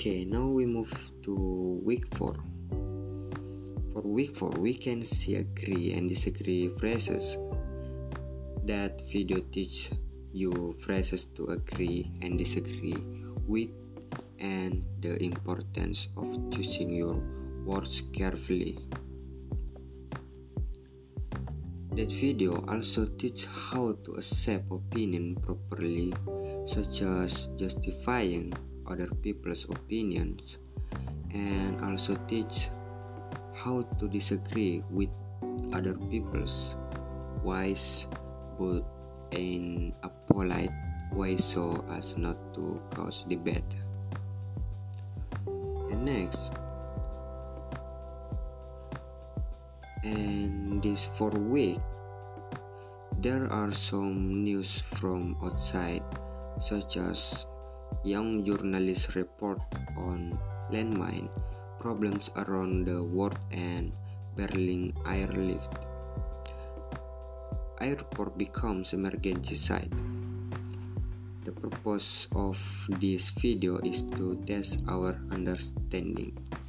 Okay, now we move to week 4. For week 4, we can see agree and disagree phrases. That video teach you phrases to agree and disagree with and the importance of choosing your words carefully. That video also teach how to accept opinion properly, such as justifying other people's opinions, and also teach how to disagree with other people's ways, but in a polite way so as not to cause debate. And next, and this 4th week, there are some news from outside, such as young journalists report on landmine problems around the world and Berlin airlift. Airport becomes emergency site. The purpose of this video is to test our understanding.